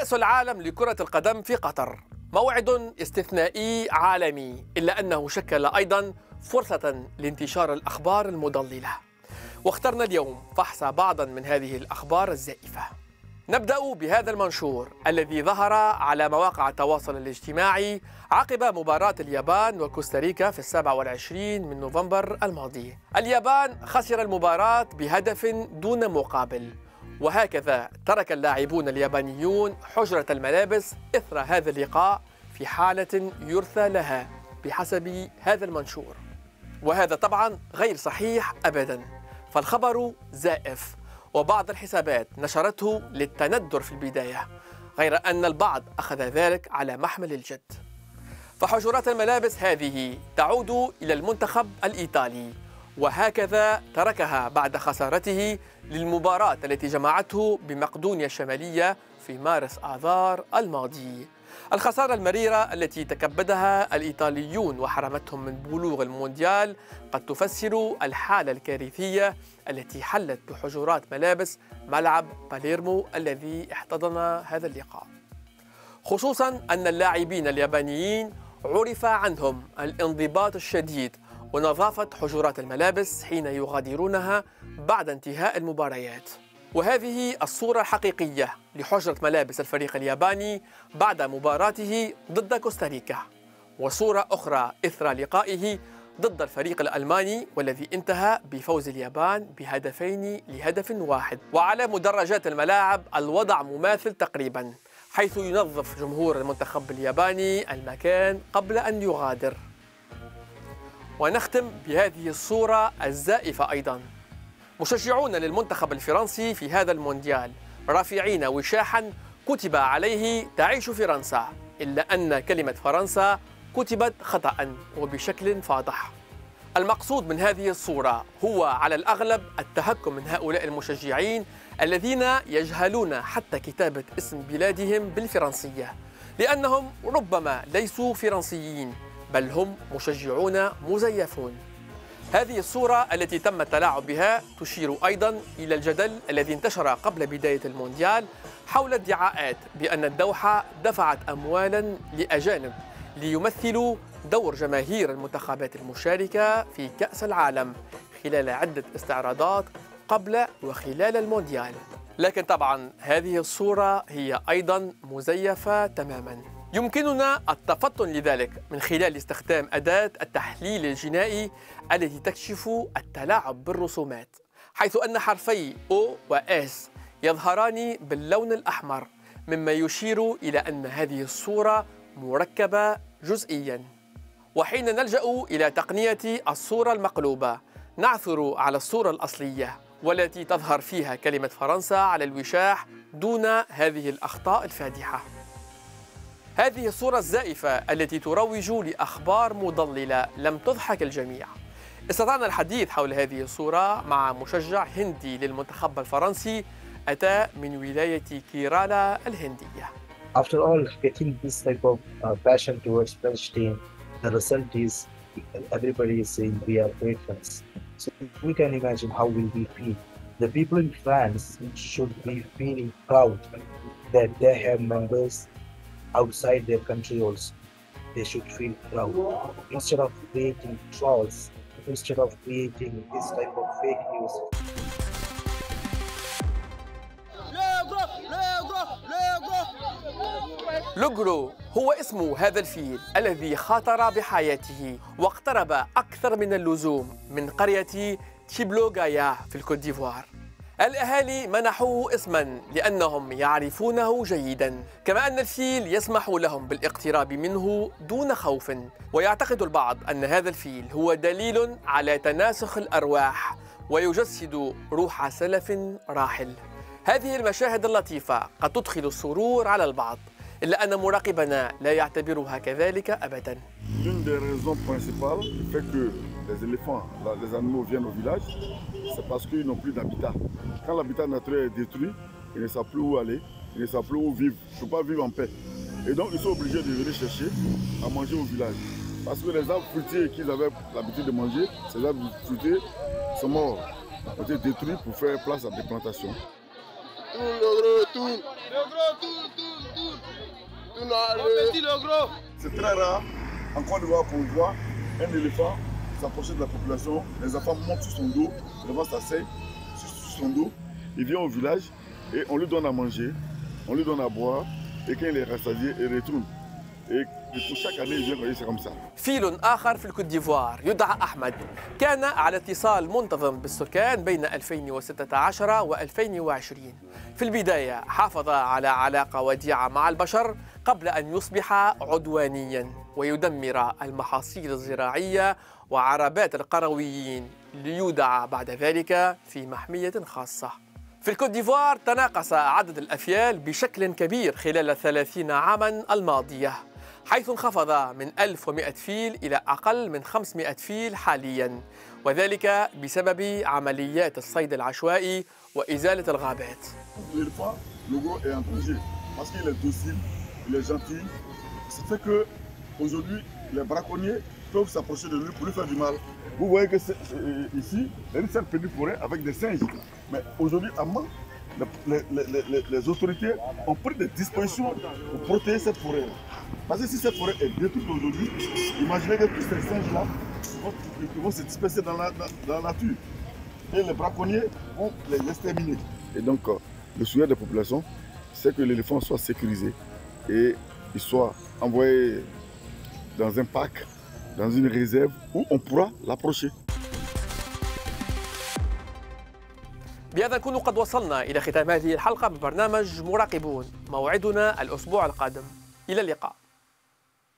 كأس العالم لكرة القدم في قطر موعد استثنائي عالمي، إلا أنه شكل أيضا فرصة لانتشار الأخبار المضللة، واخترنا اليوم فحص بعضا من هذه الأخبار الزائفة. نبدأ بهذا المنشور الذي ظهر على مواقع التواصل الاجتماعي عقب مباراة اليابان وكوستاريكا في 27 من نوفمبر الماضي. اليابان خسر المباراة بهدف دون مقابل، وهكذا ترك اللاعبون اليابانيون حجرة الملابس إثر هذا اللقاء في حالة يرثى لها بحسب هذا المنشور، وهذا طبعا غير صحيح أبدا، فالخبر زائف، وبعض الحسابات نشرته للتندر في البداية، غير أن البعض أخذ ذلك على محمل الجد. فحجرات الملابس هذه تعود إلى المنتخب الإيطالي، وهكذا تركها بعد خسارته للمباراة التي جمعته بمقدونيا الشمالية في مارس آذار الماضي. الخسارة المريرة التي تكبدها الإيطاليون وحرمتهم من بلوغ المونديال قد تفسر الحالة الكارثية التي حلت بحجرات ملابس ملعب باليرمو الذي احتضن هذا اللقاء، خصوصا أن اللاعبين اليابانيين عرف عنهم الانضباط الشديد ونظافة حجرات الملابس حين يغادرونها بعد انتهاء المباريات. وهذه الصورة الحقيقية لحجرة ملابس الفريق الياباني بعد مباراته ضد كوستاريكا، وصورة أخرى إثر لقائه ضد الفريق الألماني والذي انتهى بفوز اليابان ب2-1. وعلى مدرجات الملاعب الوضع مماثل تقريبا، حيث ينظف جمهور المنتخب الياباني المكان قبل أن يغادر. ونختم بهذه الصورة الزائفة أيضا. مشجعون للمنتخب الفرنسي في هذا المونديال رافعين وشاحا كتب عليه تعيش فرنسا، إلا أن كلمة فرنسا كتبت خطأ وبشكل فاضح. المقصود من هذه الصورة هو على الأغلب التهكم من هؤلاء المشجعين الذين يجهلون حتى كتابة اسم بلادهم بالفرنسية، لأنهم ربما ليسوا فرنسيين بل هم مشجعون مزيفون. هذه الصورة التي تم التلاعب بها تشير أيضا إلى الجدل الذي انتشر قبل بداية المونديال حول ادعاءات بأن الدوحة دفعت أموالا لأجانب ليمثلوا دور جماهير المنتخبات المشاركة في كأس العالم خلال عدة استعراضات قبل وخلال المونديال. لكن طبعا هذه الصورة هي أيضا مزيفة تماما. يمكننا التفطن لذلك من خلال استخدام أداة التحليل الجنائي التي تكشف التلاعب بالرسومات، حيث أن حرفي O و S يظهران باللون الأحمر، مما يشير إلى أن هذه الصورة مركبة جزئيا. وحين نلجأ إلى تقنية الصورة المقلوبة نعثر على الصورة الأصلية والتي تظهر فيها كلمة فرنسا على الوشاح دون هذه الأخطاء الفادحة. هذه الصورة الزائفة التي تروج لأخبار مضللة لم تضحك الجميع. استطعنا الحديث حول هذه الصورة مع مشجع هندي للمنتخب الفرنسي أتى من ولاية كيرالا الهندية. After all, getting this type of passion towards French team, the result is everybody is saying we are great fans. So we can imagine how will we feel. The people in France should be feeling proud that they have members outside their country also. They should feel proud. Instead of creating trolls, instead of creating this type of fake news. لوغرو هو اسم هذا الفيل الذي خاطر بحياته واقترب أكثر من اللزوم من قرية تشيبلوغايا في الكوت ديفوار. الأهالي منحوه اسما لأنهم يعرفونه جيدا، كما أن الفيل يسمح لهم بالاقتراب منه دون خوف. ويعتقد البعض أن هذا الفيل هو دليل على تناسخ الأرواح ويجسد روح سلف راحل. هذه المشاهد اللطيفة قد تدخل السرور على البعض، إلا أن مراقبنا لا يعتبرها كذلك أبدا. L'une des raisons principales qui fait que les éléphants, les animaux viennent au village, c'est parce qu'ils n'ont plus d'habitat. Quand l'habitat naturel est détruit, ils ne savent plus où aller, ils ne savent plus où vivre, ils ne peuvent pas vivre en paix. Et donc ils sont obligés de venir chercher à manger au village. Parce que les arbres fruitiers qu'ils avaient l'habitude de manger, ces arbres fruitiers sont morts, ont été détruits pour faire place à des plantations. Le gros tour. C'est très rare en Côte d'Ivoire qu'on voit un éléphant s'approcher de la population. Les enfants montent sur son dos, devant sa selle, sur son dos. Il vient au village et on lui donne à manger, on lui donne à boire. Et quand il est rassasié, il retourne. Et pour chaque année, il vient, c'est comme ça. فيل آخر في الكوت ديفوار يدعى أحمد كان على اتصال منتظم بالسكان بين 2016 و2020. في البداية حافظ على علاقة وديعة مع البشر قبل أن يصبح عدوانياً ويدمر المحاصيل الزراعية وعربات القرويين ليودع بعد ذلك في محمية خاصة. في الكوت ديفوار تناقص عدد الأفيال بشكل كبير خلال 30 عاماً الماضية، حيث انخفض من 1100 فيل إلى أقل من 500 فيل حالياً، وذلك بسبب عمليات الصيد العشوائي وإزالة الغابات. L'éléphant, le gros est en danger parce qu'il est docile, il est gentil. Ça fait que aujourd'hui, les braconniers peuvent s'approcher de lui pour lui faire du mal. Vous voyez que ici, il y a une certaine petite forêt avec des singes. Mais aujourd'hui, à Mans, les autorités ont pris des dispositions pour protéger cette forêt. Parce que si cette forêt est détruite aujourd'hui, imaginez que tous ces singes-là vont se disperser dans la nature. Et les braconniers vont les exterminer. Et donc, le souhait des populations, c'est que l'éléphant soit sécurisé et il soit envoyé dans un parc, dans une réserve où on pourra l'approcher. بهذا نكون قد وصلنا إلى ختام هذه الحلقة ببرنامج مراقبون. موعدنا الأسبوع القادم. إلى اللقاء.